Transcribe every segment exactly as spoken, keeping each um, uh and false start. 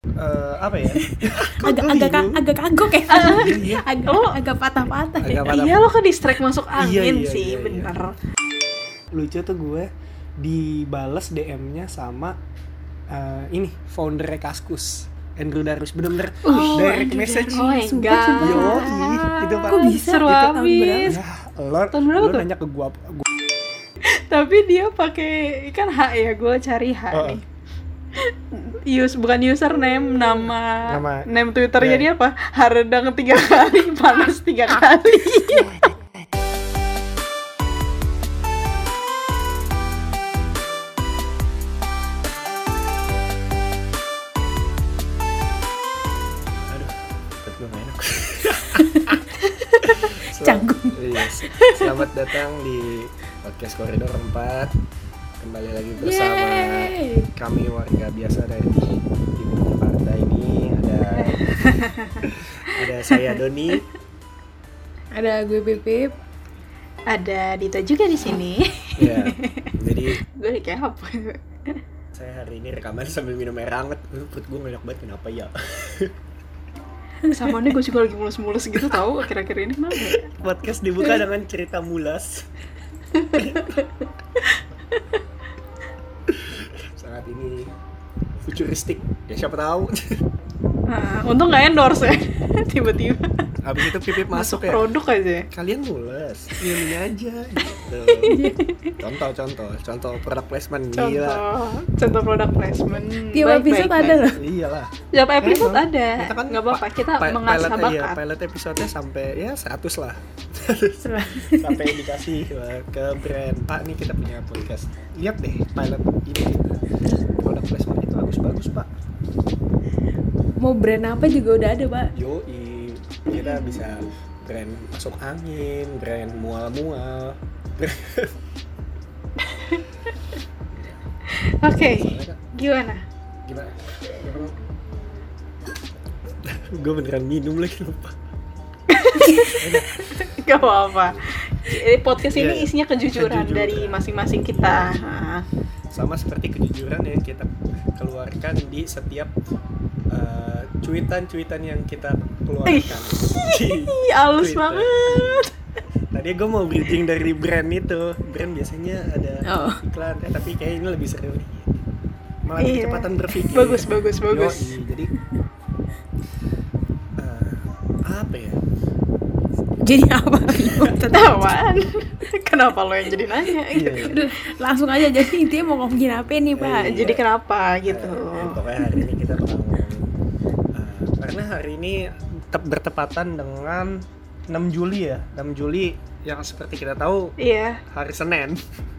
Uh, apa ya? agak agak ka- agak kagok ya. Iya, iya. agak Oh. agak patah-patah ya. Agak patah. Iya, lo ke distract masuk Iya, angin iya, sih, iya, iya. bener. Lucu tuh gue dibales D M-nya sama uh, ini foundernya Kaskus, Andrew Darwis, bener-bener Oh, direct Andrew message. Darwis. Oh my Sumpah, god. sumpah. Yoi, itu Pak. Kok bisa? Seru Itu tahun abis. Ya, lo, Tahun berapa lo tuh? nanya ke gue, gue Tapi dia pakai kan H ya, gue cari H Oh. nih. Use bukan username, nama Nama. name Twitternya Yeah. dia apa? Haredang tiga kali, panas tiga kali. aduh, perut gue gak enak. Selam- Canggung. Iya, selamat datang di podcast Koridor empat. Kembali lagi bersama Yeay. kami warga biasa dari Timur Jakarta ini. Ada ada saya Doni. Ada gue Bebep. Ada Dita juga di sini. Ya, jadi Gue kayak apa? saya hari ini rekaman sambil minum air hangat. Aduh, perut gue ngelak banget, kenapa ya? Sama nih gue juga lagi mulus-mulus gitu tahu akhir-akhir ini kenapa ya? Podcast dibuka dengan cerita mulas. Sangat ini futuristik. Ya siapa tahu. Nah, untung nggak endorse ya. Tiba-tiba Habis itu Pipip masuk ya. produk aja. Kalian mules, ini aja gitu. Contoh, contoh, contoh product placement. Contoh, Gila. contoh produk placement. Tiap Baik, episode baik, ada baik. loh. Iyalah. Tiap episode Emang. ada. Kita kan Nggak apa-apa, pa- kita pa- mengasah pilot- iya, bakat. pilot episode-nya sampai ya seratus lah. Sampai dikasih uh, ke brand. Pak, nih kita punya podcast. Lihat deh pilot ini kita. Product placement itu bagus-bagus, Pak. Mau brand apa juga udah ada, Pak. Yoi, kita bisa brand masuk angin, brand mual-mual. Oke, Soalnya kan, gimana? gimana? Gue beneran minum lagi lupa. Gak apa-apa. Jadi podcast ini Iya, iya. isinya kejujuran, Kejujuran. dari masing-masing kita. Nah, Sama seperti kejujuran yang kita keluarkan di setiap uh, cuitan-cuitan yang kita keluarkan. Di Ih, halus Twitter. banget. Tadi gue mau bridging dari brand itu. Brand biasanya ada Oh. iklan, eh tapi kayak ini lebih seru nih. Malah Iya. kecepatan berpikir. Bagus, bagus, bagus. Yoi, jadi uh, apa ya? Jadi apa? Ketahuan. Kenapa lo yang jadi nanya? Iya, iya. Udah, langsung aja. Jadi intinya mau ngomongin apa nih, Pak? Iya. Jadi kenapa gitu? Uh, pokoknya hari ini kita bakal ngomongin uh, karena hari ini tep bertepatan dengan enam Juli ya. enam Juli yang seperti kita tahu Iya. hari Senin.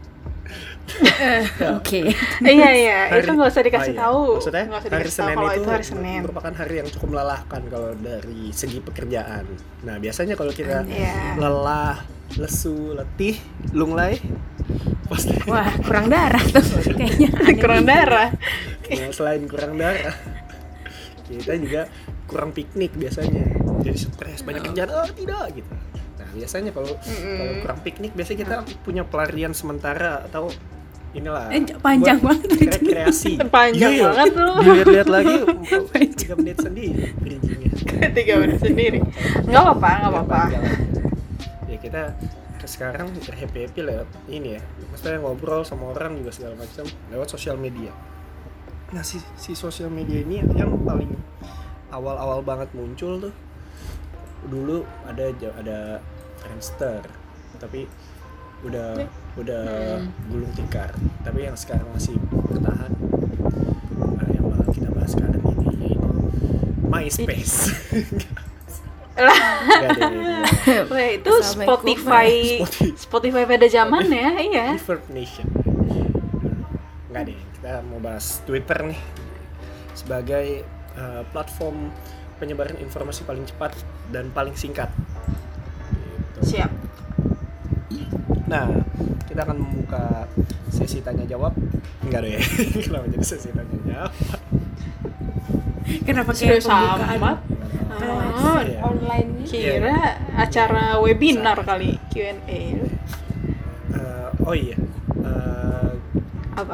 Oke. Iya iya, Hari- itu nggak usah dikasih oh iya. tahu. Maksudnya Nggak usah hari dikasih tahu Senin kalau itu, itu hari Senin. merupakan hari yang cukup melelahkan kalau dari segi pekerjaan. Nah biasanya kalau kita Iya. lelah, lesu, letih, lunglai, pasti Wah, kurang darah tuh kayaknya. aneh Kurang nih. darah. nah, selain kurang darah, kita juga kurang piknik biasanya. Jadi stres, banyak kerjaan, oh tidak gitu. Nah biasanya kalau Mm-mm. kalau kurang piknik, biasanya kita punya pelarian sementara atau inilah Eh, panjang buat banget rekreasi. Panjang Iya, banget tuh. Dilihat-lihat lagi tiga menit sendiri bridgingnya. Tiga menit sendiri. Nggak apa-apa, nggak apa-apa. Panjang. Ya kita ke sekarang happy-happy lewat ini ya. Maksudnya ngobrol sama orang juga segala macam lewat sosial media. Nah si, si sosial media ini yang paling awal-awal banget muncul tuh dulu ada ada Friendster, tapi udah udah gulung tikar. Tapi yang sekarang masih bertahan, nah, yang bakal kita bahas sekarang ini yaitu MySpace. Lah, Nggak ada, nggak. weh, itu Assalamualaikum. Spotify, Spotify. Spotify pada zaman ya, iya. Reverb Nation. Nggak deh, kita mau bahas Twitter nih sebagai uh, platform penyebaran informasi paling cepat dan paling singkat. Gitu. Siap. Nah, kita akan membuka sesi tanya jawab. Enggak deh, kenapa jadi sesi tanya jawab? Kenapa Sudah kayak pembukaan sama. Oh, Iya. online Kira acara webinar kali Q and A. Uh, oh iya, uh, Apa?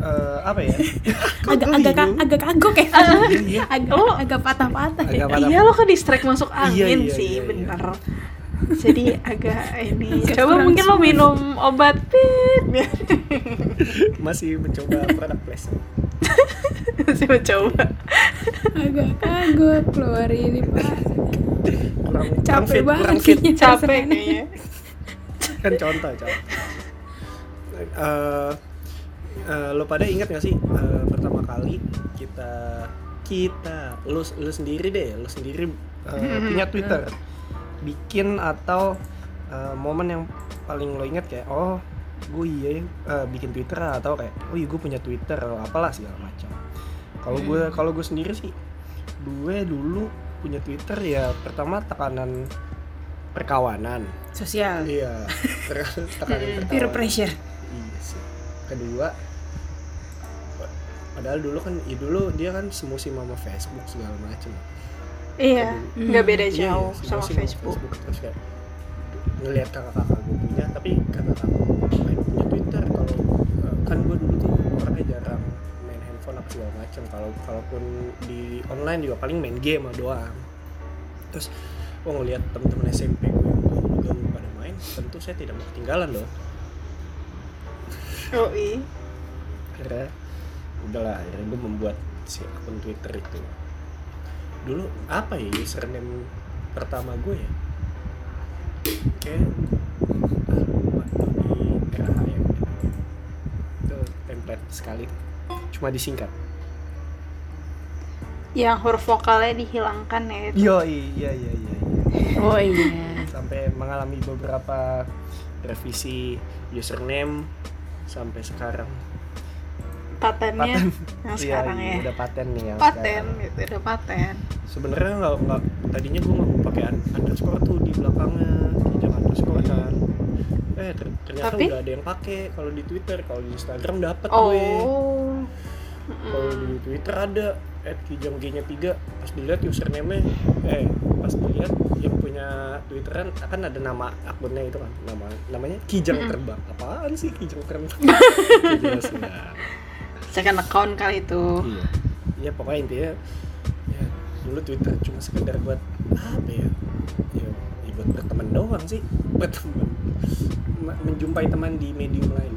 eh, apa ya? agak Gua agak bingung. agak kagok ya. Iya, iya. agak Lo- agak patah-patah ya. Agak patah. Iya lo ke distract masuk Iya, angin iya, sih, iya, iya. bener. Jadi agak ini. Agak Coba kurang mungkin lo smooth. minum obat pit. Masih mencoba produk placement. Masih mencoba. agak kagok keluar ini Pak. Kurang, kurang Capek fit, banget kurang fit. kayaknya Capek rasanya. kayaknya. Kan contoh, contoh. Eh, eh, lo pada ingat gak sih eh, pertama kali kita kita lu lu sendiri deh, lu sendiri eh, punya Twitter, bikin atau eh, momen yang paling lo ingat kayak oh gue iya ya, eh, bikin Twitter atau kayak oh iya gue punya Twitter atau apalah segala macam. Kalau gue kalau gue sendiri sih, gue dulu punya Twitter ya pertama tekanan perkawanan. Sosial. Iya, tekanan Peer perkawanan. pressure. Iya sih. Kedua, padahal dulu kan, ya dulu dia kan semusim sama Facebook segala macam. Iya, nggak beda Iya, jauh iya, sama semusim Facebook. Terus kayak ngelihat kakak-kakak gue punya, tapi kakak-kakak gue main punya Twitter. Kalau eh, kan gue dulu tuh orangnya jarang main handphone apa segala macam. Kalau kalaupun di online juga paling main game doang. Terus gue ngelihat temen-temen S M P gue yang gaul-gaul pada main, tentu saya tidak mau ketinggalan loh. Oh iya. Akhirnya udahlah, akhirnya gue membuat si akun Twitter itu. Dulu apa ya username pertama gue ya, kayak ah, lupa, di R H ya itu template sekali, cuma disingkat. Yang huruf vokalnya dihilangkan ya itu. Yo iya iya iya iya. Oh iya. Sampai mengalami beberapa revisi username sampai sekarang. Patennya yang Iya, sekarang iya, ya. udah paten nih yang Paten sekarang. gitu, udah paten. Sebenarnya nggak nggak tadinya gue nggak mau pakai un- underscore tuh di belakangnya, jangan underscore kan. Eh ter- ternyata Tapi? udah ada yang pakai kalau di Twitter, kalau di Instagram dapat gue. Oh. Kalau di Twitter ada at kijang g-nya tiga, pas dilihat username-nya eh pas dilihat yang punya Twitteran akan ada nama akunnya itu kan, nama namanya Kijang Terbang. Apaan sih Kijang Terbang? Jelas ya. Second account kali itu. Iya. Iya pokoknya intinya ya dulu Twitter cuma sekedar buat apa ya? Ya, ya buat berteman doang sih, buat teman. Ma- menjumpai teman di medium lain.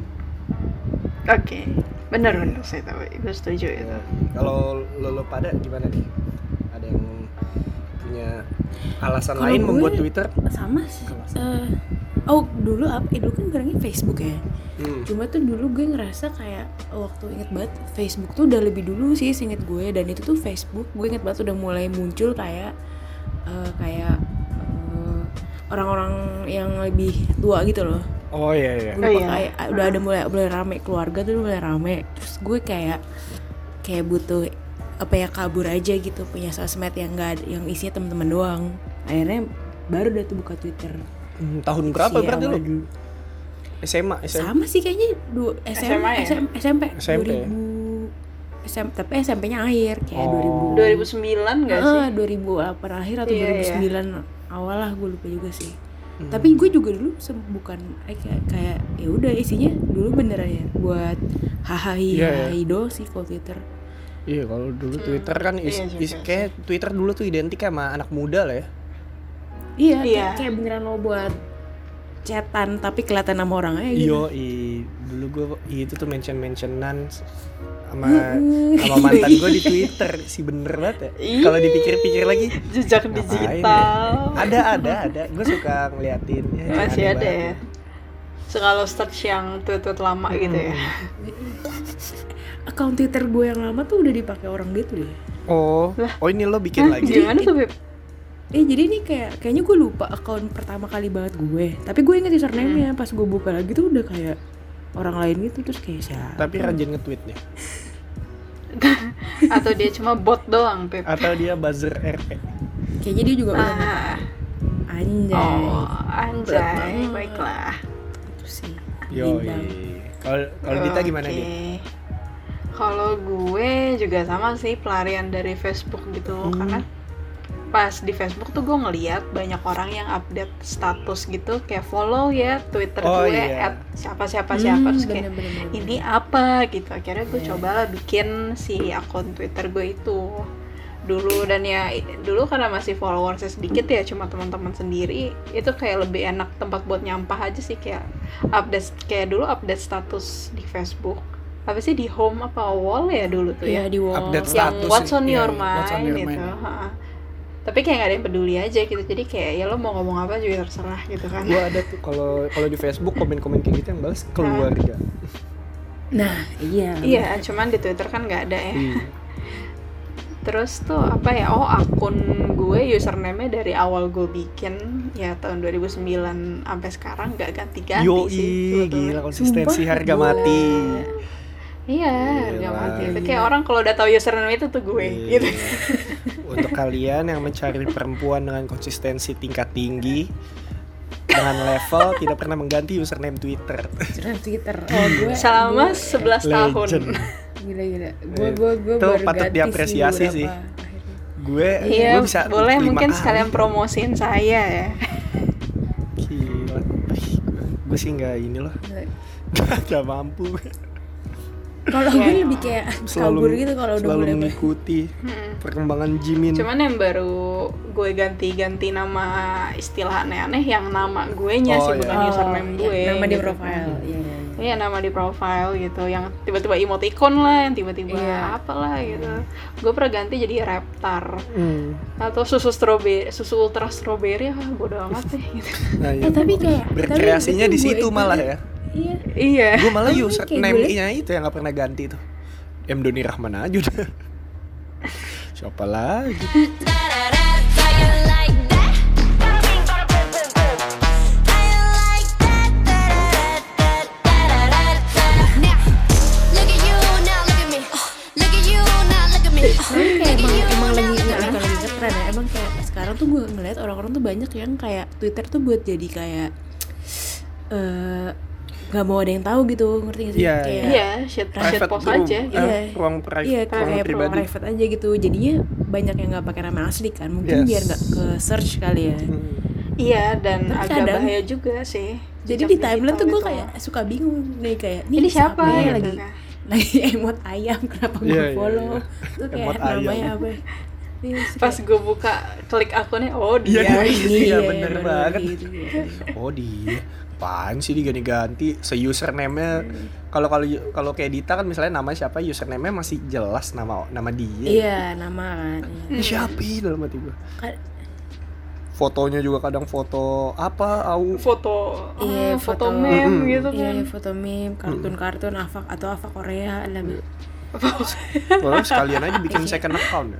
Oke. Bener bener saya tahu. Gue setuju itu. Ya, kalau lo, lo pada gimana nih? Ada yang punya alasan Kalau lain gue- membuat Twitter? Sama sih. Eh, oh dulu apa? Eh, dulu kan barangnya Facebook ya. Hmm. Cuma tuh dulu gue ngerasa kayak waktu inget banget Facebook tuh udah lebih dulu sih seinget gue, dan itu tuh Facebook gue inget banget udah mulai muncul kayak eh, kayak eh, orang-orang yang lebih tua gitu loh. Oh iya iya. Gue Oh, lupa iya. kayak ah, udah ada mulai mulai rame, keluarga tuh mulai rame. Terus gue kayak kayak butuh apa ya, kabur aja gitu, punya sosmed yang enggak yang isinya teman-teman doang. Akhirnya baru udah tuh buka Twitter. Hmm, tahun berapa Si berarti awal lo? dulu. S M A, S M A. Sama sih kayaknya du, S M, S M A ya? S M, S M P S M P. dua ribu S M, tapi S M P-nya akhir kayak Oh. dua ribu dua ribu sembilan nggak sih? Ah, dua ribu delapan akhir atau Iya, dua ribu sembilan awal lah, gue lupa juga sih. Hmm. Tapi gue juga dulu se- bukan eh, kayak kayak ya udah isinya dulu beneran ya buat hahaha Iya, iya. doang sih kalau Twitter. Iya kalau dulu Twitter kan is, Iya juga is- kayak Twitter dulu tuh identik sama anak muda lah ya. Iya, Iya. Kayak, kayak beneran lo buat chatan tapi kelihatan nama orang aja gitu. Yo, i, dulu gue itu tuh mention mentionan sama Mm-mm. sama mantan gue di Twitter, si bener banget ya. Ih. Kalau dipikir-pikir lagi, Jejak ngapain digital. ya? Ada ada ada. Gue suka ngeliatin. Ya, Masih aneh ada ya. banget. Suka lo search yang tweet-tweet lama gitu ya. Akun Twitter gue yang lama tuh udah dipakai orang gitu deh. Oh, Lah. oh ini lo bikin Hah, lagi. gimana tuh Beb? Eh jadi ini kayak kayaknya gue lupa akun pertama kali banget gue. Tapi gue inget username-nya, pas gue buka lagi tuh udah kayak orang lain gitu, terus kayak siapa? Tapi rajin nge-tweet deh. Atau dia cuma bot doang Beb? Atau dia buzzer R P. Kayaknya dia juga udah Ah. anjay. Oh, anjay, banget. baiklah. Itu sih. Yo, Bintang. kalau kalau Dita gimana Oke. nih? Kalau gue juga sama sih, pelarian dari Facebook gitu. Hmm. Karena pas di Facebook tuh gue ngeliat banyak orang yang update status gitu kayak follow ya Twitter Oh, gue iya. at siapa siapa siapa Hmm, terus kayak bener-bener. ini apa gitu. Akhirnya gue Iya. cobalah bikin si akun Twitter gue itu dulu, dan ya dulu karena masih followersnya sedikit ya, cuma teman-teman sendiri, itu kayak lebih enak tempat buat nyampah aja sih, kayak update kayak dulu update status di Facebook apa sih di home apa wall ya dulu tuh Iya ya, di wall. Update yang status what's sih. on Iya, your iya, mind what's on your gitu. mind. Ha. Tapi kayak gak ada yang peduli aja gitu, jadi kayak ya lo mau ngomong apa juga terserah gitu kan. Gua ada tuh kalau kalau di Facebook komen-komen kayak gitu yang balas keluarga. Nah, iya. Iya, cuman di Twitter kan nggak ada ya. Iya. Terus tuh apa ya, oh akun gue username-nya dari awal gue bikin ya tahun dua ribu sembilan sampai sekarang nggak ganti-ganti Yoi, sih sebetulnya. gila konsistensi Sumpah, harga gila. mati. Iya, harga Gila. mati. Itu kayak orang kalau udah tahu username itu tuh gue Iya. gitu. Untuk kalian yang mencari perempuan dengan konsistensi tingkat tinggi dengan level tidak pernah mengganti username Twitter. Username Twitter. Oh, gue Selama gue- sebelas tahun. Legend. gila-gila. Gue gue gue Itu baru patut ganti diapresiasi sih. beberapa akhirnya. Gue Iya, gue bisa boleh lima mungkin kali. sekalian promosiin saya ya. Gila. Gue sih nggak ini loh. Gak mampu. Kalau Iya. gue lebih kayak kabur gitu kalau udah selalu mulai mengikuti Hmm. perkembangan Jimin. Cuman yang baru gue ganti-ganti nama istilah aneh-aneh yang nama gue nya Oh, sih, iya. bukan Oh, username iya, gue. nama di gitu. profile. Iya, iya, iya. Iya, nama di profile gitu, yang tiba-tiba emoticon lah, yang tiba-tiba Iya. apalah gitu. Gue pernah ganti jadi Reptar Hmm. atau susu strawberry, susu ultra strawberry, ah bodo amat deh gitu. Nah, Eh tapi kayak berkreasinya tapi di gue situ ikut- malah ya. Iya. Iya. Gue malah Tapi kayak username-nya itu yang gak pernah ganti tuh. M Doni Rahman aja udah. Siapa lagi? Tapi kayak emang emang lagi nggak bukan lagi ngetren ya. Emang kayak sekarang tuh gue ngeliat orang-orang tuh banyak yang kayak Twitter tuh buat jadi kayak eh nggak mau ada yang tahu gitu, ngerti gak sih? Iya, Kayak Iya, shit, shit post room. aja. Eh, Iya. ruang private, Iya, ruang kayak pribadi. private aja gitu. Jadinya banyak yang nggak pakai nama asli kan. Mungkin Yes. biar nggak ke search kali ya. Hmm. Iya, dan Tapi agak kadang- bahaya juga sih. Jadi jejak di timeline tuh digital gue itu. kayak suka bingung nih kayak nih Ini siapa ya gitu lagi kan. lagi emot ayam kenapa gue Iya, iya, follow iya. tuh kayak Emot ayam. namanya apa? Iya, Pas gue buka klik akunnya, oh Iya, dia. iya, ini iya, ya, bener baru banget. gitu, gitu. Oh dia, apaan sih diganti-ganti? Se-username-nya kalau kalau kalau kayak Dita kan misalnya nama siapa, username-nya masih jelas nama nama dia. Iya nama kan. Ini siapa ih, dalam hati gue. Ka- Fotonya juga kadang foto apa, au. Foto, Iya, ah, foto foto- meme Mm-mm. gitu Iya, kan. foto meme, kartun-kartun, Ava atau Ava Korea, ada. Wah, sekalian aja bikin second account ya.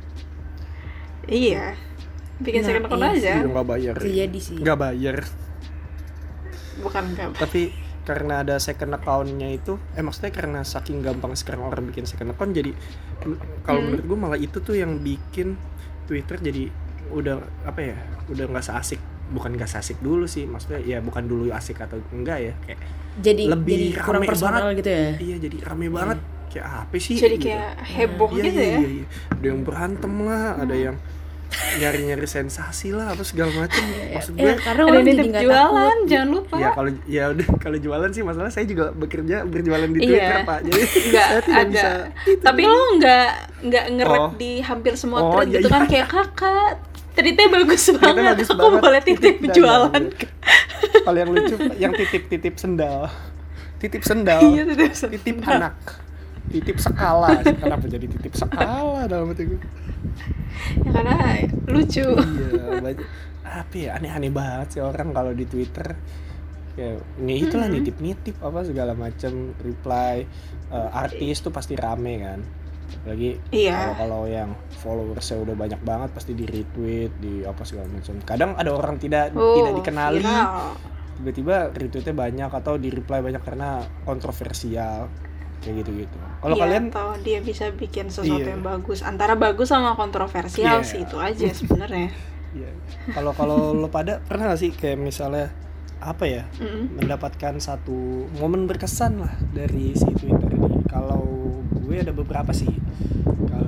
Iya, bikin Nah, second account iya aja. Iya, nggak bayar. Bisa jadi sih. Nggak bayar. Bukan enggak. Tapi karena ada second account-nya itu, eh maksudnya karena saking gampang sekarang orang bikin second account, jadi m- kalau Hmm. menurut gue malah itu tuh yang bikin Twitter jadi udah apa ya, udah nggak seasik, bukan nggak seasik dulu sih, maksudnya ya bukan dulu asik atau enggak ya, kayak Jadi lebih jadi kurang rame personal banget. gitu ya. iya jadi rame banget, kayak apa sih? Jadi gitu. kayak heboh Iya, gitu iya, ya. iya, iya. Ada yang berantem lah, ada yang nyari-nyari sensasi lah, apa segala macam. Maksud gue, Ya, karena Ada orang jadi nitip nggak jualan, takut. jangan lupa. ya kalau ya udah kalau jualan sih masalah saya juga bekerja berjualan di Iya. Twitter Pak, jadi Nggak saya tidak ada. bisa. Tapi lo nggak nggak nge-rap Oh. di hampir semua Oh, thread iya, gitu iya. kan, kayak kakak tweetnya bagus Tweetnya banget, bagus aku banget. boleh titip Dan- jualan. Kalau yang lucu yang titip-titip sendal, titip sendal, Iya, titip sendal. titip anak, titip skala. Kenapa jadi titip skala dalam hati gue? Ya, karena lucu. Iya, banyak. Apa ya, aneh-aneh banget sih orang kalau di Twitter. Ya, ini itulah Mm-hmm. nitip-nitip apa segala macam, reply eh, artis tuh pasti rame kan. Apalagi Iya. kalau kalau yang followersnya udah banyak banget pasti di retweet, di apa segala macam. Kadang ada orang tidak Oh, tidak dikenali, viral. tiba-tiba retweetnya banyak atau di reply banyak karena kontroversial kayak gitu-gitu. Kalau Iya, kalian atau dia bisa bikin sesuatu Iya. yang bagus, antara bagus sama kontroversial Iya. sih, itu aja sebenarnya. Iya. Kalau kalau lo pada pernah gak sih kayak misalnya apa ya, Mm-mm. mendapatkan satu momen berkesan lah dari si Twitter ini? Kalau gue ada beberapa sih. Kalau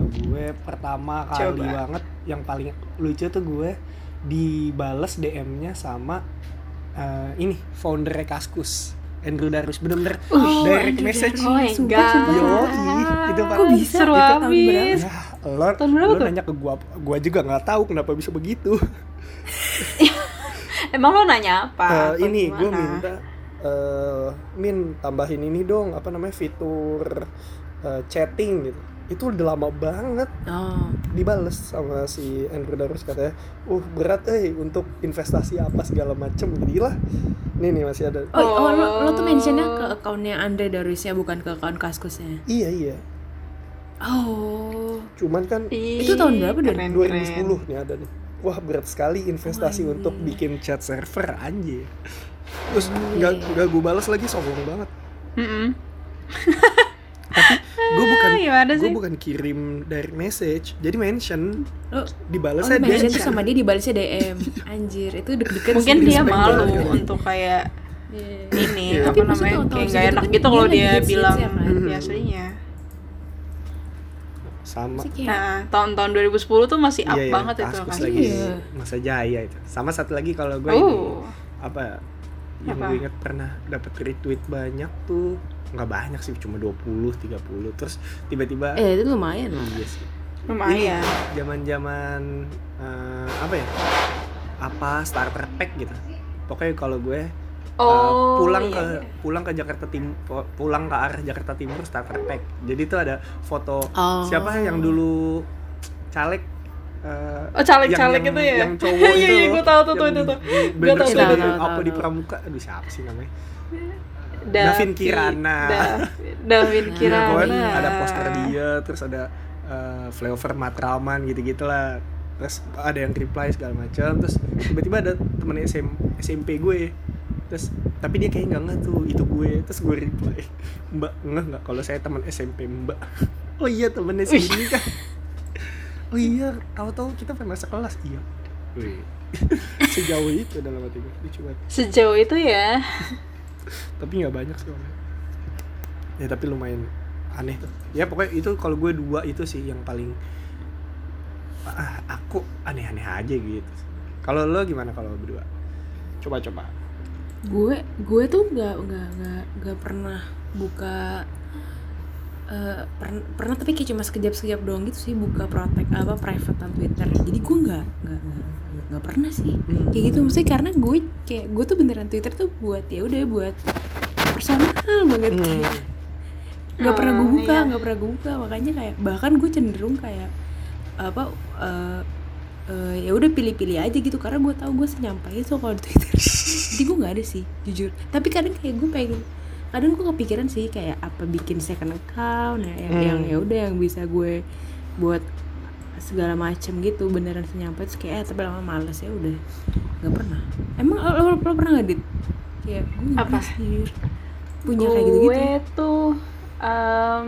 gue pertama kali Coba. banget yang paling lucu tuh gue dibales D M-nya sama uh, ini founder Kaskus, Andrew Darus, bener-bener Oh, direct Andrew message. Darus. Oh my Sumpah, god. sumpah. Yoi, itu Kok bisa? Seru Itu tahun abis. Ya, lo, Tahun berapa lo tuh? nanya ke gua, gua juga nggak tahu kenapa bisa begitu. Emang lo nanya apa? Eh, Atau ini gue gimana? minta, eh min tambahin ini dong, apa namanya, fitur eh, chatting gitu. Itu udah lama banget. Oh. Dibales sama si Andrew Darus, katanya, uh berat eh untuk investasi apa segala macem. Gila. Nih nih masih ada. Oh, oh lo, lo tuh mentionnya ke akunnya Andre Darusnya, bukan ke akun Kaskusnya. Iya iya. Oh. Cuman kan Ih, Itu tahun berapa, Don? keren, dua ribu keren. sepuluh nih ada nih. Wah berat sekali investasi Oh, untuk iya. bikin chat server, anjir. Terus nggak nggak gue balas lagi, sombong banget. Mm-mm. Gue bukan Gimana gue sih? bukan kirim direct message, jadi mention Lo dibalasnya Oh, mention dia. tuh sama dia dibalasnya D M. Anjir, itu deg-degan Mungkin sih. dia respect malu banget. untuk kayak Iya. ini Iya. apa Tapi maksud namanya tahun-tahun kayak segitu nggak enak kan gitu dia kalau lagi dia hits-hits bilang ya kan? di aslinya. Sama. Sih kayak, Nah, tahun-tahun dua ribu sepuluh tuh masih up Iya, iya, banget itu Kaskus kan. lagi Iya. masa jaya itu. Sama satu lagi kalau gue ini Oh. apa yang Apa? gue ingat pernah dapat retweet banyak tuh, nggak banyak sih, cuma dua puluh tiga puluh, terus tiba-tiba eh itu lumayan loh. iya sih. Lumayan. Zaman-zaman eh, apa ya? Apa starter pack gitu. Pokoknya kalau gue Oh, uh, pulang iya, ke iya. pulang ke Jakarta Tim pulang ke arah Jakarta Timur starter pack. Jadi itu ada foto Oh. siapa yang dulu caleg, uh, Oh, caleg-caleg yang- itu ya? yang cowok Iya, itu iya, loh, gue tahu tuh, yang tuh, itu di- tuh. di- Gue bener tahu, sih, tahu, dari tahu, apa tahu, di tahu. Pramuka, aduh siapa sih namanya, Davi- Davin Kirana. Da- Davin Nah, Kirana. Pokoknya ada poster dia, terus ada uh, Flyover Matraman gitu-gitu lah. Terus ada yang reply segala macam. Terus tiba-tiba ada temen S M, S M P gue. Terus tapi dia kayak nggak ngeh tuh itu gue. Terus gue reply, Mbak ngeh nggak kalau saya teman S M P Mbak? Oh iya temennya sini kan. Oh iya, tahu-tahu kita pernah sekelas. Iya. Wih. Sejauh itu dalam hati gue. Lucu banget. Sejauh itu ya. Tapi nggak banyak sih orangnya. Ya tapi lumayan aneh tuh. Ya pokoknya itu kalau gue dua itu sih yang paling ah, aku aneh-aneh aja gitu. Kalau lo gimana kalau berdua? Coba-coba. Gue gue tuh nggak nggak nggak nggak pernah buka eh, per- pernah tapi kayak cuma sekejap-sekejap doang gitu sih buka protek apa private Twitter. Jadi gue nggak nggak nggak nggak pernah sih kayak gitu, maksudnya karena gue kayak gue tuh beneran Twitter tuh buat ya udah buat personal banget, Hmm. kayak nggak pernah gue Oh, buka iya. nggak pernah gue buka makanya kayak bahkan gue cenderung kayak apa eh, eh, ya udah pilih-pilih aja gitu karena gue tahu gue senyampai itu kalau di Twitter. Jadi gue nggak ada sih jujur, tapi kadang kayak gue pengen, kadang gue kepikiran sih kayak apa bikin second account ya yang Hmm. yang ya udah yang bisa gue buat segala macem gitu beneran senyampai, terus kayak eh, tapi lama males ya udah nggak pernah. Emang lo, lo, lo pernah nggak Dit? Kayak gue nggak Apa? pernah sih punya kayak gitu-gitu. Gue tuh em,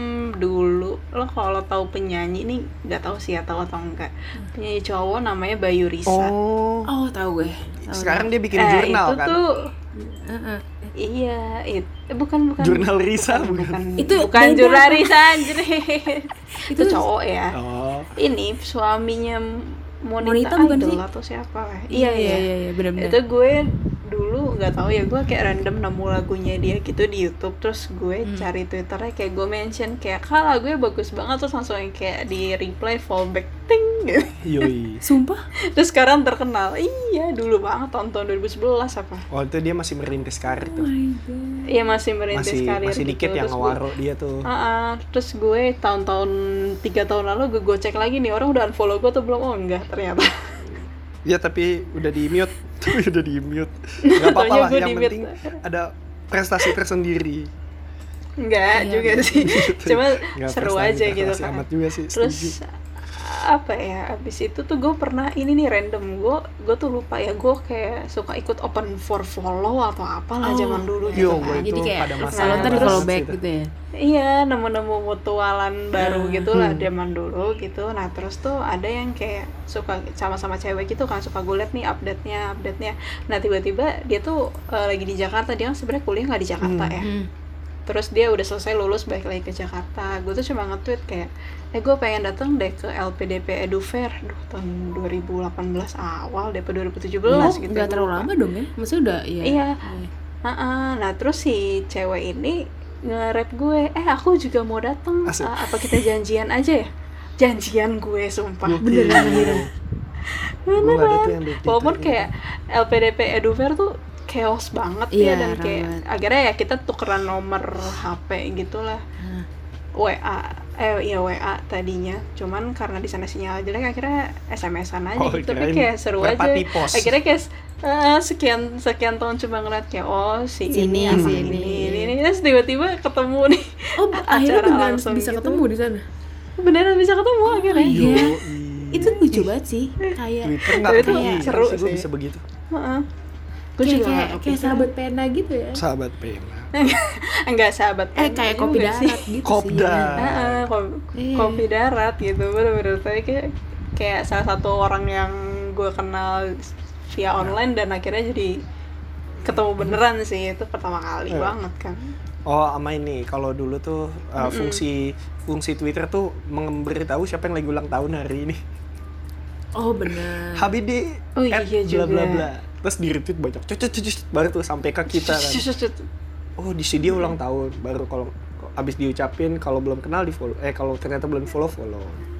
dulu lo kalau tahu penyanyi ini nggak tahu sih ya tahu atau enggak, penyanyi cowok namanya Bayu Risa. Oh. Oh tahu gue. Tahu, Sekarang dia bikin Eh, jurnal itu kan? tuh tahu. Heeh. iya it, eh, bukan bukan Jurnal Risa bukan, bukan. bukan Itu bukan beda, jurnal Pak. Risa anjir. Itu Itu- cowok ya. Oh. Ini suaminya Monita, Monita bukan Idol sih? atau siapa lah. Iya Iya iya iya, iya benar-benar. Itu gue dulu nggak tahu ya, gue kayak random nemu lagunya dia gitu di YouTube, terus gue Hmm. cari Twitternya, kayak gue mention kayak kak lagunya bagus banget, terus langsung yang kayak di reply fallback ting gitu. Yoi. Sumpah. Terus sekarang terkenal. Iya dulu banget tahun tahun dua ribu sebelas apa. Oh itu dia masih merintis karir Oh tuh. my god. Iya masih merintis Masih karir masih gitu. dikit yang Terus gue- ngewaro dia tuh. Ah, ah. Terus gue tahun-tahun tiga tahun lalu gue gue cek lagi nih orang udah unfollow gue atau belum, oh enggak ternyata. Ya tapi udah di mute. Tapi udah di mute. Gak apa-apa Taunya lah, gue yang di-mute. penting ada prestasi tersendiri. Enggak Iya, juga bener. sih. Cuma Nggak seru prestasi- aja gitu prestasi kan. amat juga sih, Terus setuju. apa ya, abis itu tuh gue pernah ini nih random, gue gue tuh lupa ya, gue kayak suka ikut open for follow atau apalah Oh, zaman dulu Yo, gitu gue kan. itu Jadi kayak pada masa kalau ntar di terus- follow back gitu ya. Iya, nemu-nemu mutualan baru Hmm. gitu lah Hmm. zaman dulu gitu. Nah terus tuh ada yang kayak suka sama-sama cewek gitu kan, suka gue liat nih update-nya, update-nya. Nah tiba-tiba dia tuh eh, lagi di Jakarta, dia kan sebenarnya kuliah nggak di Jakarta Hmm. ya. Hmm. terus dia udah selesai lulus balik lagi ke Jakarta. Gue tuh cuma nge-tweet kayak eh gue pengen datang deh ke L P D P Edu Fair duh tahun dua ribu delapan belas awal deh, dua ribu tujuh belas Oh, gitu. nggak Gua terlalu lupa. lama dong ya? Maksudnya udah ya. Iya. Uh-uh. Nah terus si cewek ini nge-rap gue, eh aku juga mau datang, Asik. uh, apa kita janjian aja ya? Janjian gue sumpah. Gokil. Beneran akhirnya. Gua nggak ada tuh yang di Walaupun Twitter kayak L P D P Edu Fair tuh chaos banget Iya, ya, dan kayak rawat. akhirnya ya kita tukeran nomor H P gitulah. Nah, W A eh iya W A tadinya, cuman karena di sana sinyal jelek akhirnya S M S-an aja Oh, gitu. Tapi kirain kayak seru aja. merpati pos. Akhirnya kayak eh, sekian sekian tahun cuma ngeliat kayak oh si Sini, ini sama sini. ini, ini ini terus tiba-tiba ketemu nih. Oh, akhirnya Acara beneran langsung bisa gitu. ketemu di sana. Beneran bisa ketemu akhirnya. iya. Yoi. Itu lucu banget sih. Kayak Twitter nggak Itu kayak seru gue sih. bisa begitu. Heeh. Gue kayak, juga kayak, nggak kayak kepikiran. sahabat pena gitu ya. Sahabat pena. Enggak sahabat Eh pena kayak juga kopi sih. darat gitu Kopda. sih. Heeh, ko- Iya. kopi darat gitu, bener-bener. Tapi kayak kayak salah satu orang yang gue kenal via online dan akhirnya jadi ketemu beneran sih, itu pertama kali Iya. banget kan. Oh, sama ini kalau dulu tuh uh, fungsi fungsi Twitter tuh memberitahu siapa yang lagi ulang tahun hari ini. Oh benar. H B D Oh, iya at bla juga. bla bla. Terus di retweet banyak. Cucut cucut baru tuh sampai ke kita kan. Oh, di sini dia ulang tahun. Baru kalau abis diucapin kalau belum kenal di follow. Eh kalau ternyata belum follow follow.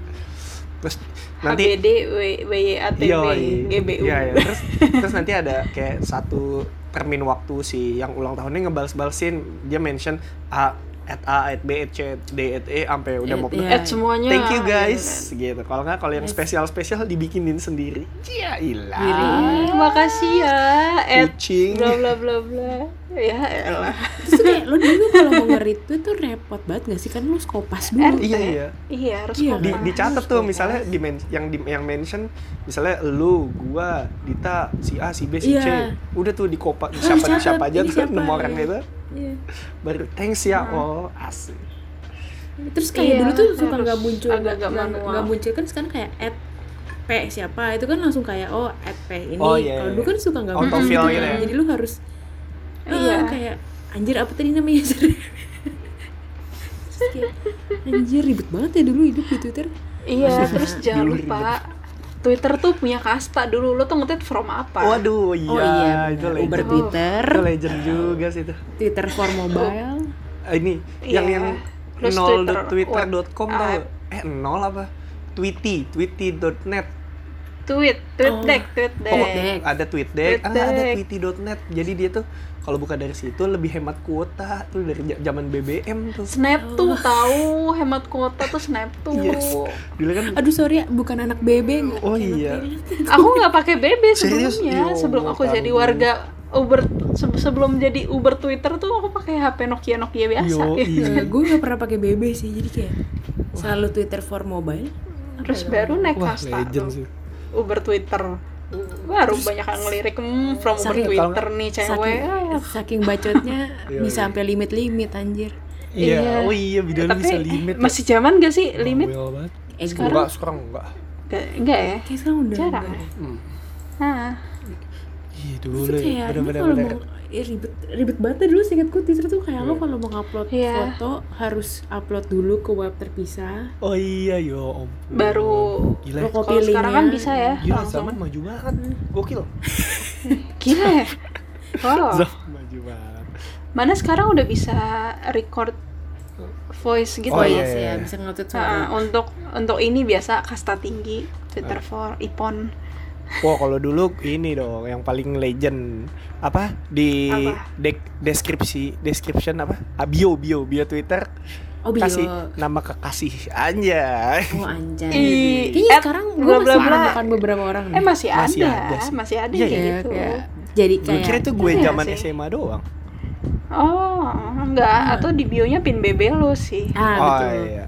Terus nanti H B D W W Y A T B Yoi. G B U. Iya, iya. Terus terus nanti ada kayak satu termin waktu si yang ulang tahunnya ngebales-balesin, dia mention A at A at B at C at D at E sampai udah mau At, iya. At semuanya. thank you guys Iya, gitu. Kalau nggak kalau yang Yes. spesial-spesial dibikinin sendiri. Ya Diri. ilah. Ah, makasih ya. At Kucing. bla bla bla bla. Ya elah. Terus tuh kayak lo dulu kalau mau nge-retweet tuh repot banget gak sih? Kan lo skopas dulu. At, Iya iya. Iya, harus Iya, Di, kompas. dicatat tuh misalnya di men- yang di yang mention misalnya lu, gua, Dita, si A, si B, si C. Iya. Udah tuh di kopa Oh, siapa dicatat, siapa aja ini tuh siapa, nomor orang iya. itu. Iya. Baru thanks ya. Oh, asik. Terus kayak Iya, dulu tuh suka harus nggak muncul agak-agak nggak manual. nggak muncul kan sekarang kayak at P siapa itu kan langsung kayak oh at P ini. Oh, iya, Kalau iya. dulu kan suka nggak Autofill muncul gitu gitu kan. ya. Jadi lu harus Iya. ah, kayak anjir apa tadi namanya? Terus kayak anjir ribet banget ya dulu hidup di Twitter. Iya, terus jangan Dulu lupa Twitter tuh punya kasta dulu. Lo tuh nge-tweet from apa? Waduh, iya, Oh iya, itu benar. legend. Uber Twitter, Itu legend juga sih itu. Twitter for mobile. Ah, ini yang Iya. yang Terus nol Twitter, dot twitter dot com web, tau ah. gak? Eh nol apa? Tweety, tweety dot net. Tweet, tweet Oh. deck, tweet deck. Oh, Deck. ada TweetDeck, ah, ada TweetDeck. tweety dot net. Jadi dia tuh kalau buka dari situ lebih hemat kuota tuh dari ja- zaman B B M tuh. Snap tuh tahu hemat kuota tuh Snap tuh. Yes. Dulu kan Aduh sorry ya, bukan anak B B nggak? Oh, Kayak iya. anak Aku nggak pakai B B Serius? sebelumnya. Yo, Sebelum aku tahu. jadi warga Uber, se- sebelum jadi Uber Twitter tuh aku pakai H P Nokia Nokia biasa. Yo, iya. gue nggak pernah pakai B B sih, jadi kayak selalu Twitter for mobile. Apa Terus ya? baru naik Wah, kasta legend tuh. sih. Uber Twitter. Baru banyak yang ngelirik hmm, from Uber Saking- Twitter nih cewek. saking, Ah, saking bacotnya Iya, bisa iya. sampai limit-limit anjir. Iya. Iya. Oh iya, video lu Tapi bisa limit. masih zaman gak sih limit? Bawel banget. Eh, Sekarang- Enggak, sekarang enggak. Gak, enggak ya? kayak sekarang udah Jarang enggak. ya? Hmm. Nah, Iya Terus dulu tuh ya. kayak ini Bener-bener kalau bener. mau eh, ribet ribet banget deh dulu seingatku Twitter tuh kayak lo Iya. kalau mau upload Iya. foto harus upload dulu ke web terpisah. Oh iya, yo om. baru Gila. Lo copy kalau sekarang kan linknya. bisa ya Gila, langsung. zaman maju banget. Gokil. Gila ya? Wow. Zaman maju banget. Mana sekarang udah bisa record voice gitu Oh, Oh, ya? iya iya, sih iya. ya, bisa nge-tweet Nah, suara. untuk untuk ini biasa kasta tinggi Twitter for Ipon. Wah, kalau dulu ini dong yang paling legend apa di Apa? dek- deskripsi description apa Ah, bio bio bio Twitter Oh bio. kasih nama kekasih anjay. Oh anjay. Ih, Kayaknya at sekarang gue bla bla masih bla. menemukan beberapa orang Eh masih ada, Masih ada sih. masih ada Iya, kayak Kayak- gitu. kayak- jadi Gue kayak kira itu gue Iya zaman sih. S M A doang. Oh, enggak, atau di bionya pin B B lu sih. ah Oh betul. iya.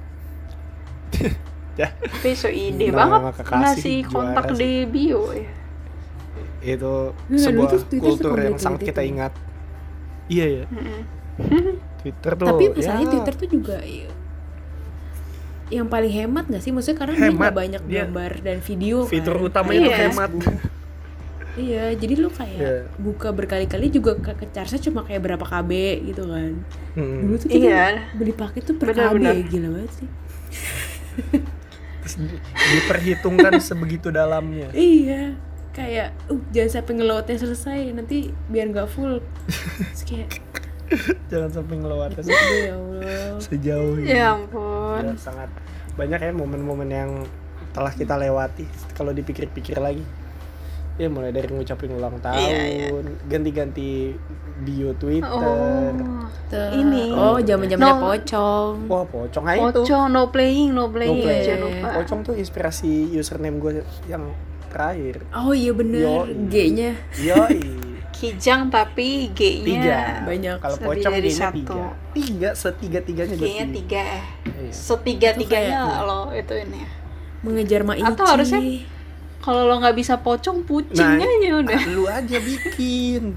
Ya, Tapi so ide Nama banget kekasih ngasih kontak juara di bio ya. itu Nggak, sebuah dulu tuh Twitter kultur yang sekomplikated sangat kita itu. ingat. Iya ya, Mm-mm. Twitter tuh. Tapi masalahnya ya, Twitter tuh juga ya, yang paling hemat gak sih? Maksudnya karena dia Hemat. nggak banyak Dia- gambar dan video fitur kan. utamanya itu Iya. hemat. Iya, jadi lu kayak Iya. buka berkali-kali juga ke, ke charge-nya cuma kayak berapa K B gitu kan. Hmm. Dulu tuh kita Iya. beli paket tuh per Benar-benar. K B, gila banget sih. Terus di- diperhitungkan sebegitu dalamnya. Iya, kayak uh jangan sampai ngeloadnya selesai nanti biar nggak full. Terus kayak Jangan sampai ngelewatkan aduh ya Allah. sejauh ini. Ya ampun. Ya, sangat banyak ya momen-momen yang telah kita lewati kalau dipikir-pikir lagi. Ya mulai dari ngucapin ulang tahun, Iya, iya. ganti-ganti bio Twitter. Oh. Tuh. Ini. Oh, zaman-zamannya No. pocong. Wah, pocong aja itu. Pocong, no playing, no No playing, play. jangan lupa. Pocong tuh inspirasi username gue yang terakhir. Oh iya bener, Yoi. G-nya Yoi. Kijang tapi Tiga. G-nya banyak. Kalau Lebih pocong dari G-nya satu. tiga. Tiga, setiga-tiganya dia G-nya tiga eh. Iya. Setiga-tiganya Itu kayak- lo itu ini. mengejar Maici. Atau harusnya kalau lo nggak bisa pocong, kucing Nah, aja udah. ah, lu aja bikin.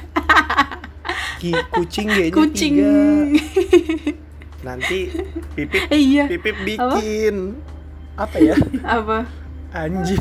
Ki- kucing G-nya Kucing. tiga. Nanti Pipip Eh, iya. Pipip bikin apa, ya? Apa? Anjing.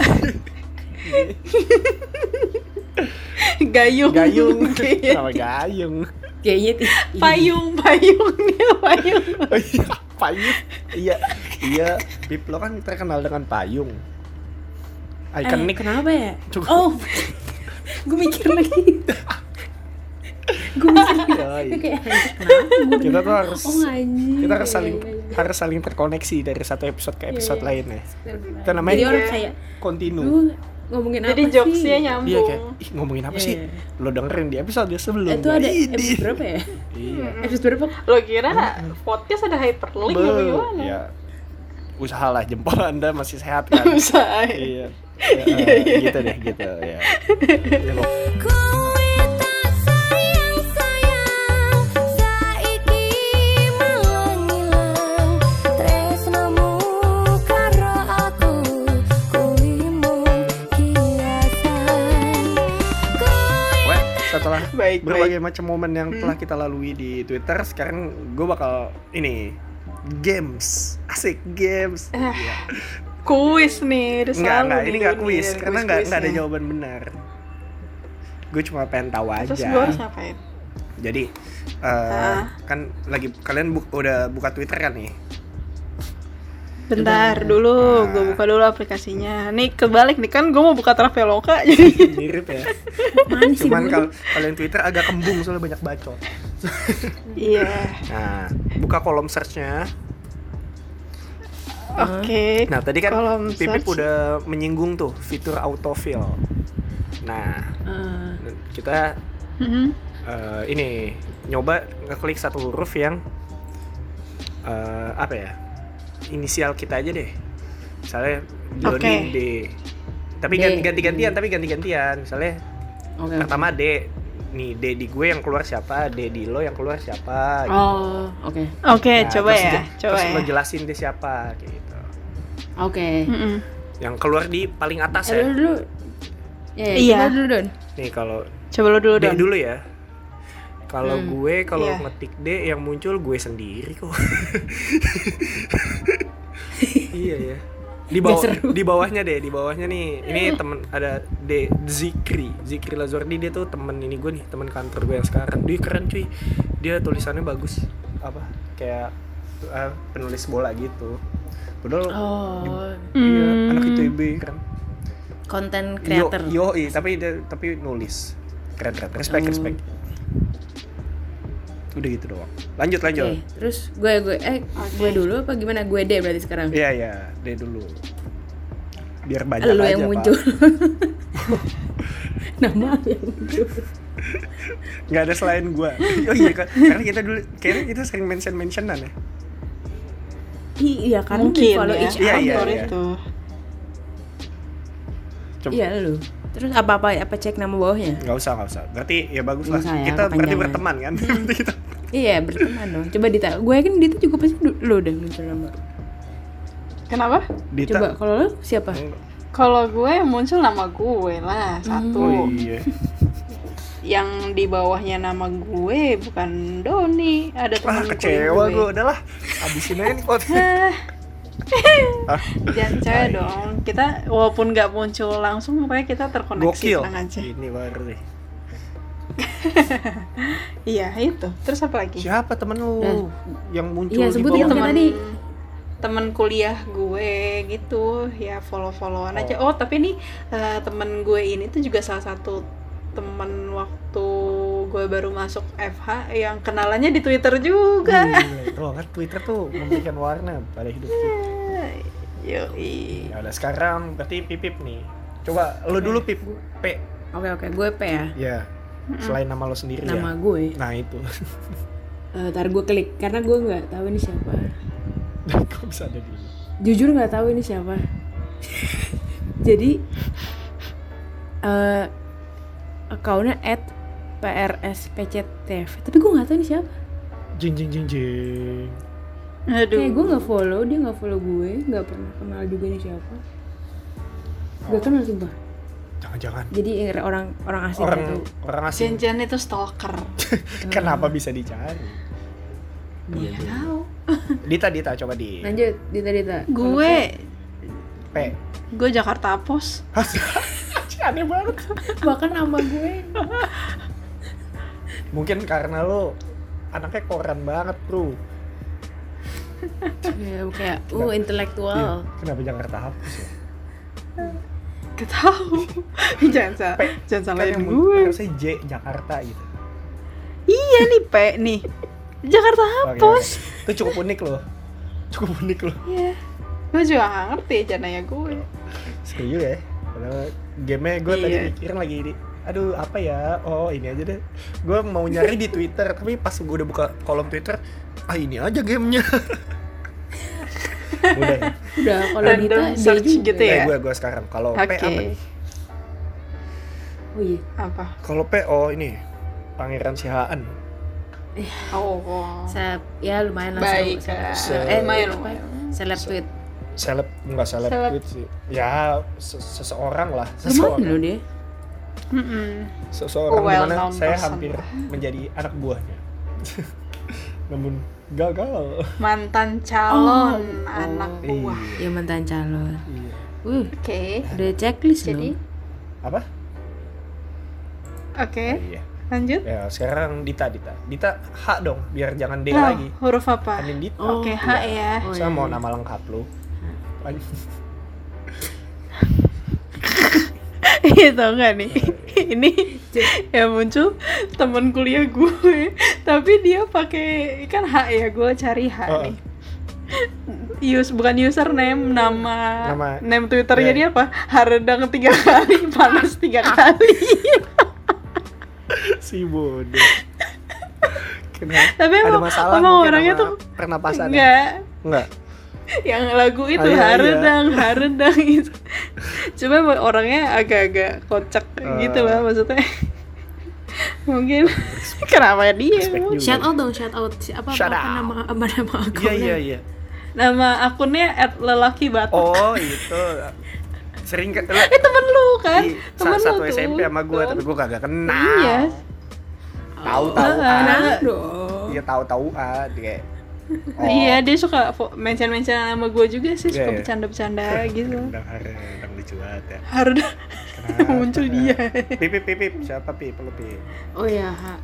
Gayung. Gayung. G-nya Sama gayung. G-nya tiga. Payung, payung dia payung. Oh iya, payung. Iya, iya. Pip lo kan terkenal dengan payung. Eh, Ikonik. kenapa ya? Cukup. Oh, gue mikir lagi. Gue mikir Yoi. kayak kenapa? Gua Kita tuh denger, harus oh anjing. kita harus Iya, saling iya, iya. harus saling terkoneksi dari satu episode ke episode Iya, iya. lainnya. Itu namanya Jadi orang Iya. kayak kontinu. lu ngomongin Jadi apa sih? jokesnya nyambung. Iya kayak, ih ngomongin apa Iya, sih? iya. Lo dengerin di episode sebelumnya. Itu ada Idih. episode berapa ya? Iya. Episode berapa? Lo kira podcast ada hyperlink apa Be- gimana? ya. Usahalah jempol Anda masih sehat kan? Usah. Iya. Ya, eh, gitu deh, gitu ya. Ya, pok- Kowe tak sayang-sayang, saiki malah ngilang. Tresnamu karo aku, kuwi mung kiasan. Kowe Weh, setelah Baik, berbagai macam momen yang telah kita lalui di Twitter, sekarang gue bakal ini games, asik games. Iya. Kuis nih, udah Enggak, selalu enggak, nih ini enggak dunia kuis dari karena enggak enggak ada kuis-kuisnya. jawaban benar. Gue cuma pengen tahu aja. Terus gue harus ngapain? Jadi eh, Ah. kan lagi kalian bu- udah buka Twitter kan nih? Bentar dulu, Nah. gue buka dulu aplikasinya. Nih kebalik nih kan, gue mau buka Traveloka jadi. Mirip ya. Mana sih Cuman dulu? kalau kalian Twitter agak kembung soalnya banyak bacot. Iya. Nah, buka kolom search-nya. Oke. Nah, tadi kan Kolom Pipip search. udah menyinggung tuh fitur autofill. Nah, Ah, kita Mhm. eh, ini nyoba ngeklik satu huruf yang eh, apa ya? Inisial kita aja deh. Misalnya Doni Oke. D. Tapi D. ganti- ganti-gantian, tapi ganti-gantian. Misalnya oke. pertama D. Nih D di gue yang keluar siapa, D di lo yang keluar siapa gitu. Oh, oke. Oke, Nah, coba terus ya, je- coba terus ya. lo jelasin dia siapa gitu. Oke. Mm-mm. Yang keluar di paling atas Eh, ya. dulu dulu. Ya, ya, Iya. coba dulu Don. Nih kalau Coba lo dulu D dong. dulu ya. Kalau Hmm. gue kalau Iya. ngetik D yang muncul gue sendiri kok. Iya ya. Di bawah Nggak seru. di bawahnya deh, di bawahnya nih. Ini temen ada D Zikri. Zikri Lazordi dia tuh temen ini gue nih, temen kantor gue yang sekarang. Dia keren cuy. Dia tulisannya bagus. Apa? Kayak eh, penulis bola gitu. Padahal Oh, iya, Hmm. anak I T B kan. konten Yo, creator. yo, tapi dia tapi nulis. Keren keren. Respect Oh. respect. Udah gitu doang. Lanjut lanjut. Oke, terus gue gue eh gue dulu apa gimana? Gue D berarti sekarang. Iya iya, deh dulu. Biar banyak Lu aja yang Pak. muncul. Nama lu yang muncul. Nggak ada selain gua. Oh iya kan, karena kita dulu kayaknya kita sering mention mentionan ya. Iya, karena Mungkin di follow ya. each Iya, other. iya, Faktor iya. itu. Coba. Iya lu. Terus apa apa apa cek nama bawahnya? Nggak usah nggak usah. Berarti ya bagus lah. Nggak usah ya, Kita berarti kepanjangan. berteman kan. Berarti kita. Iya berteman dong. Coba Dita. Gue yakin Dita juga pasti du- lu udah muncul nama. Kenapa? Dita. Coba kalau lu siapa? Kalau gue yang muncul nama gue lah satu. Oh iya. Yang di bawahnya nama gue bukan Doni, ada Wah temen kecewa gue. gua udahlah. Habisin aja nih pot. Hah, Jangan cewek dong. Kita walaupun nggak muncul langsung, pokoknya kita terkoneksi. Gokil. Tenang aja. Ini baru nih. Iya itu. Terus apa lagi? Siapa temen lu Eh. yang muncul Iya, di sebut bawah? yang teman tadi. teman kuliah gue gitu ya, follow followan aja. Oh tapi nih eh, temen gue ini tuh juga salah satu temen waktu gue baru masuk F H yang kenalannya di Twitter juga. Gila, tuh kan Twitter tuh memberikan warna pada hidup kita. Yoi. Ya udah sekarang berarti Pipip nih. Coba lu dulu Pip. P. Oke oke, gue P ya. Ya. Selain nama lo sendiri Nama ya. gue. Nah itu. Eh, ntar gue klik karena gue nggak tahu ini siapa. Kok bisa ada di Jujur nggak tahu ini siapa. Jadi eh akunnya at P R S P C T F, tapi gue nggak tahu ini siapa. jing jing jing jing. Aduh. Kayak gue nggak follow, dia nggak follow gue, nggak pernah kenal juga ini siapa. Gak kenal sumpah. Jangan-jangan Jadi orang orang asing orang gitu. orang asing. Jangan itu stalker. Kenapa bisa dicari? Iya. Tahu. Dita Dita coba di Lanjut, Dita Dita. Gue P. gue Jakarta Pos. Aneh banget. Bahkan nama gue. Mungkin karena lo anaknya koran banget, Bro. Ya, kayak uh intelektual. Iya. Kenapa Jakarta hapus ya? Gak tahu. jangan salah, jangan Kan salahin yang gue. harusnya J Jakarta gitu. Iya nih P nih. Jakarta Oke, Hapus. oke. Itu cukup unik loh. Cukup unik loh. Iya. Gue juga gak ngerti janaya gue. Seru juga ya. Padahal gamenya gue tadi Iya. mikirin lagi di aduh apa ya, oh ini aja deh. Gue mau nyari di Twitter, tapi pas gue udah buka kolom Twitter, ah ini aja gamenya. Udah ya. Udah kalau Dita Random dia search juga. gitu ya. Eh, gue gue sekarang kalau P Oke. apa nih? Oh iya. Apa? Kalau P oh ini Pangeran Sihaan. Oh. oh. Seleb, ya lumayan lah. Baik. seleb- Se- seleb- eh, lumayan, apa? lumayan. Seleb tweet. Seleb enggak seleb Seleb. tweet sih. Ya se- seseorang lah, Lumayan seseorang. loh dia. Mm-mm. Seseorang Well dimana known saya person hampir lah. menjadi anak buahnya. Namun gagal. Mantan calon Oh. anak Oh. buah. Ya mantan calon. Iya. Uh, Oke. ada checklist Jadi, loh. Apa? oke. Oh, iya. Lanjut. Ya, sekarang Dita Dita. Dita H dong, biar jangan D Oh, lagi. huruf apa? Anin Dita. Oh. Oke, H ya. Oh, Saya iya, mau iya. nama lengkap lu. Itu enggak nih. Ini yang muncul teman kuliah gue, tapi dia pakai kan H ya, gue cari H Oh. nih. Use bukan username, nama Nama- name Twitternya Iya. dia apa? Haredang tiga kali, panas tiga kali. Si bodoh. Kenapa? Tapi Ada emang, masalah emang mungkin orangnya sama tuh pernapasan. enggak. Enggak. Yang lagu itu Ah, iya, iya. Haredang, Haredang gitu. Cuma emang orangnya agak-agak kocak Ah. gitu lah maksudnya. Mungkin kenapa dia? Respect emang? juga. Shout out dong, shout out. Apa Shout apa, out. nama apa nama Iya akunnya? iya iya. Nama akunnya at lelaki batok. Oh, itu. Sering ke Eh temen lu kan? di Temen sa- satu lu S M P tuh. sama gue, tapi gue kagak kenal. Iya. Tahu tahu Ah. ah. Kenal dong. Iya tahu tahu ah kayak. Oh. Iya, dia suka fo- mention-mention nama gue juga sih, Iya, suka iya. bercanda-bercanda gitu. Rendang rendang lucu banget ya. Haredang Kenapa? muncul dia. Pipip pipip siapa pip lu pip? Oh ya, ha.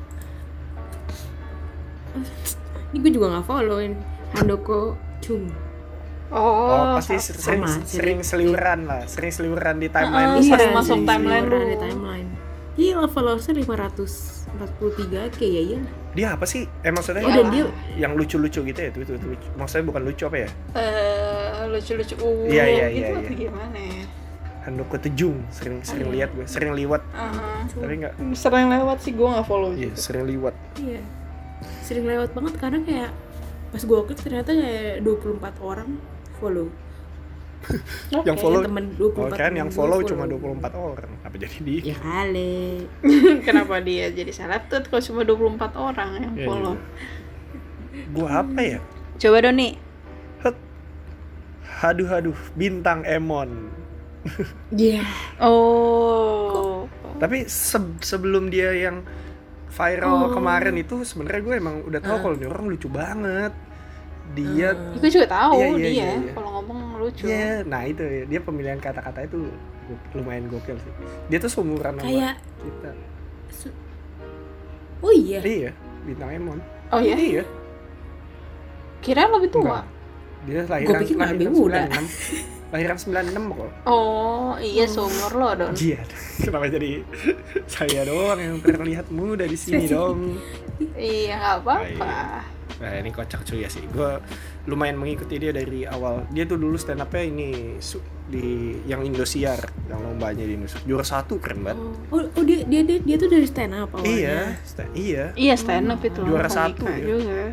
Ini gue juga nggak followin Handoko Chung. Oh, Oh, pasti sa- sering sama, sering sering. seliweran lah, sering seliweran di Ah, timeline. ah, lu. sering Iya, masuk sering timeline seliweran lu. di timeline. Gila followersnya lima ratus empat puluh tiga k ya iya. Dia apa sih? Eh maksudnya Oh dan dia yang lucu-lucu gitu ya, itu itu lucu. Maksudnya bukan lucu apa ya? Eh, lucu-lucu uh, Iya, iya, gitu iya, atau iya. gimana ya? Handoko Tejung, sering sering Oh, iya. lihat gue, sering liwat, Aha. tapi enggak. Sering lewat sih, gue nggak follow Iya, juga. sering liwat. Iya. Sering lewat banget karena kayak pas gue klik ternyata kayak dua puluh empat orang follow. Oke. Yang follow, temen dua puluh oh empat kan temen yang gue follow follow. cuma dua puluh empat orang. Apa jadi di? Ya kali. Kenapa dia jadi seleb tuh kalau cuma dua puluh empat orang yang Iya, follow? Gua apa ya? Coba dong nih. Het. Haduh haduh, bintang Emon. Iya. Oh. Tapi se- sebelum dia yang viral Oh. kemarin itu sebenarnya gue emang udah tahu Ah. kalau ini orang lucu banget. dia Gue juga tahu Iya, iya, dia iya, iya. kalau ngomong lucu. Iya, nah itu dia pemilihan kata-kata itu gu- lumayan gokil sih. Dia tuh seumuran sama Kayak kita. su- oh iya. Iya, bintang Emon. Oh ya? Iya. Kira lebih tua. Enggak. Dia lahiran Gua pikir lahiran lebih muda. sembilan puluh enam. Lahiran sembilan puluh enam kok. Oh, iya seumur lo dong. Iya. Kenapa jadi saya doang yang terlihat muda di sini dong? Iya, nggak apa-apa. Nah, ini kocak cuy ya sih. Gue lumayan mengikuti dia dari awal. Dia tuh dulu stand up-nya ini su- di yang Indosiar, yang lombanya di Indosiar. Juara satu, keren banget. Oh, oh dia, dia dia dia tuh dari stand up awalnya. Iya, sta- iya. Iya stand up itu. Juara komika satu ya. juga.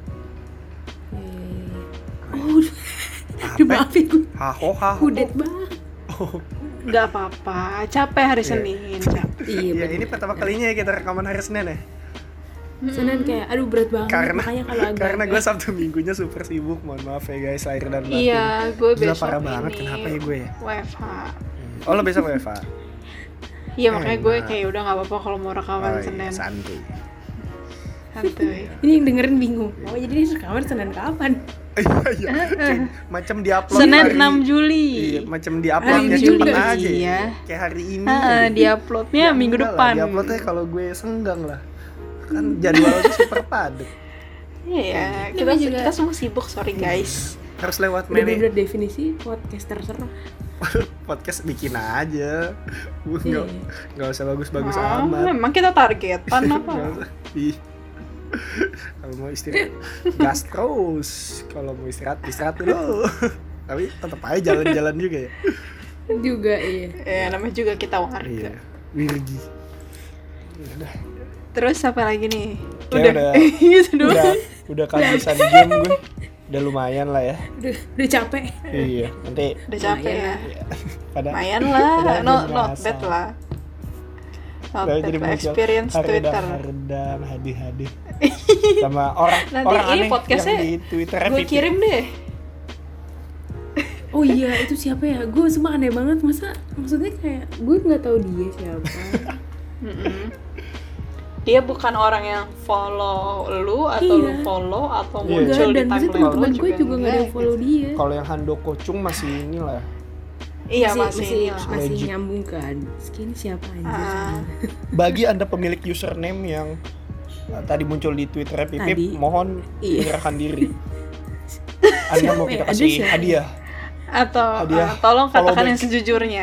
Eh, Oh, Apa? udah maafin gue. Haho haho. Udet banget. Oh, Nggak apa-apa. Capek hari Iya. Senin. Capek. Iya, iya, bener. ini pertama kalinya ya kita rekaman hari Senin ya. Senin kayak aduh berat banget. Karena Makanya kalau agak karena gue Sabtu Minggunya super sibuk. Mohon maaf ya guys, lahir dan batin. Iya, gue Gila, besok parah ini. banget. Kenapa ya gue ya? W F H. Oh, lo besok W F H. Iya makanya gue Enak. kayak udah nggak apa-apa kalau mau rekaman Oh, iya, Senin. santuy. Santuy. ini yang dengerin bingung. Oh jadi ini rekaman Senin kapan? Iya, iya. Macam diupload Senin hari- enam Juli. Iya, macam diuploadnya Hari cepet Juli, aja. iya. Kayak hari ini. Ah, gitu. diuploadnya Ya, minggu enggak depan. Lah, diuploadnya kalau gue senggang lah. Kan jadwalnya super padat. Iya, kita Namanya juga- kita semua sibuk, sorry guys. Harus lewat Udah meme. bener definisi podcaster serem. Podcast bikin aja. Gue enggak Iya. enggak usah bagus-bagus Oh, amat. memang kita targetan Nggak apa? usah. Ih. Kalau mau istirahat gas terus. Kalau mau istirahat istirahat dulu. Tapi tetap aja jalan-jalan juga ya. Juga iya. Ya namanya juga kita warga. Iya. Wirgi. Ya udah. Terus apa lagi nih? Kayak udah gitu doang. udah udah kehabisan game gue. Udah lumayan lah ya. Udah, udah capek. Iya, nanti Udah capek ya. ya, pada Lumayan lah, Udah no, jadi not biasa. bad lah. Not udah bad jadi lah, muncul experience Twitter. haredam, hadi-hadi sama orang Nanti orang ini aneh podcastnya yang di Twitter Gue kirim deh. Oh iya itu siapa ya? Gue semua aneh banget. Masa maksudnya kayak gue nggak tahu dia siapa. Mm-mm. Dia bukan orang yang follow lu atau Iya. lu follow atau Iya. muncul Enggak, di dan maksudnya timeline teman-teman lu gue juga nggak ada yang enggak, follow gitu. dia. Kalau yang Handoko Chung masih inilah. Iya masih masih, masih, ini lah. masih Legit. nyambung kan. Skin siapa anjir? Ah. Bagi Anda pemilik username yang uh, tadi muncul di Twitter Pipip, Tadi. mohon Iya. menyerahkan diri. Anda mau Siapa kita ya? Ada kasih siapa? hadiah. Atau Hadiah ah, tolong follow katakan back. yang sejujurnya.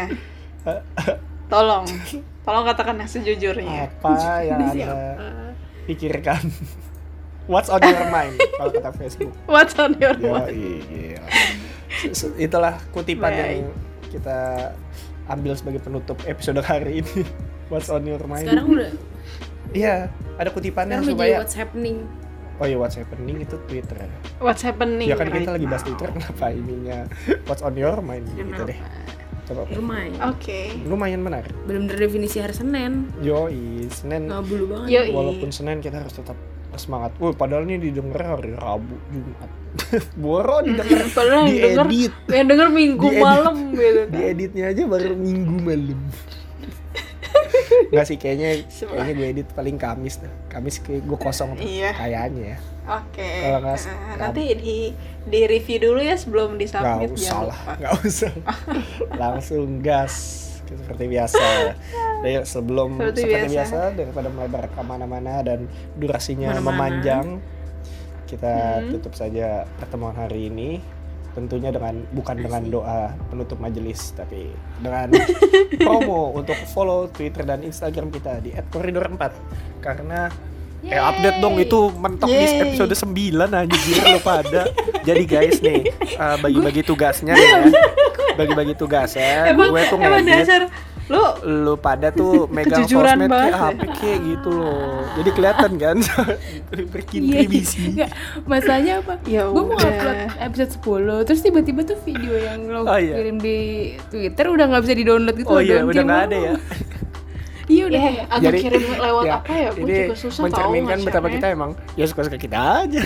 Tolong. Tolong katakan yang sejujurnya. Apa yang Ini Anda siapa? pikirkan? What's on your mind kalau kata Facebook. What's on your Yo, mind? iya. Se- se- Itulah kutipan Baik. yang kita ambil sebagai penutup episode hari ini. What's on your mind? Sekarang udah. Iya, ada kutipannya Sekarang udah supaya jadi what's happening. oh iya, what's happening itu Twitter ya. What's happening? Ya kan kita right lagi bahas now? Twitter, kenapa ininya what's on your mind gitu deh. Coba Lumayan. Oke. lumayan menarik. Belum terdefinisi hari Senin. Yoi, Senin Nggak bulu banget. Yoi. walaupun Senin kita harus tetap semangat. Wah, padahal ini didengar hari Rabu, Jumat. Boro didengar, Padahal yang denger, diedit. yang denger minggu Diedit. malam gitu kan. Dieditnya aja baru Minggu malam. Enggak sih, kayaknya Semua. kayaknya gue edit paling Kamis dah. Kamis kayak gue kosong tuh, Iya. kayaknya ya. Oke. Kalau nggak s- Nah, nanti di di review dulu ya sebelum di Nggak submit usah jangan lah, lupa. nggak usah. Langsung gas seperti biasa. Dari sebelum Seperti seperti, biasa. biasa. daripada melebar kemana-mana dan durasinya Mana-mana. memanjang, kita Hmm. tutup saja pertemuan hari ini. Tentunya dengan bukan dengan doa penutup majelis, tapi dengan promo untuk follow Twitter dan Instagram kita di et koridor empat. Karena eh update dong itu mentok di Yeay. episode sembilan anjir lu pada. Jadi guys nih, uh, bagi-bagi tugasnya nih ya. Bagi-bagi tugasnya, Emang, gue tuh emang ngedit dasar lu lu pada tuh megang Kejujuran sosmed banget kayak H P kayak gitu loh. Jadi kelihatan kan berkontribusi. Enggak, masalahnya apa? Ya Gue mau udah. upload episode sepuluh, terus tiba-tiba tuh video yang lo Oh, iya. kirim di Twitter udah nggak bisa di-download gitu Oh loh, iya, down udah game nggak lo. ada ya. Iya udah ya kayak, aku Jadi, kirim lewat ya, apa ya? Gue ini juga susah tahu mencerminkan betapa nge-share-nya. kita emang ya suka-suka kita aja.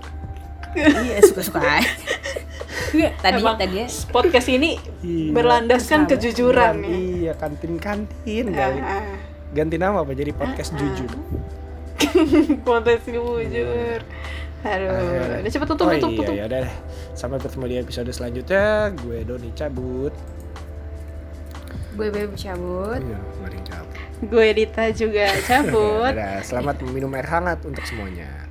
iya suka-suka aja. Enggak, tadi Emang tadi ya podcast ini Iya. berlandaskan Sahabat. kejujuran ya. Iya, kantin-kantin kali. Ah, Ganti nama apa jadi podcast jujur. kontes jujur. Aduh, udah cepet tutup, oh tutup, iya, tutup. ya udah deh. Sampai bertemu di episode selanjutnya. Gue Doni cabut. Gue Bebe cabut. Iya, kemarin cabut. Gue Dita juga cabut. Dadah, selamat meminum air hangat untuk semuanya.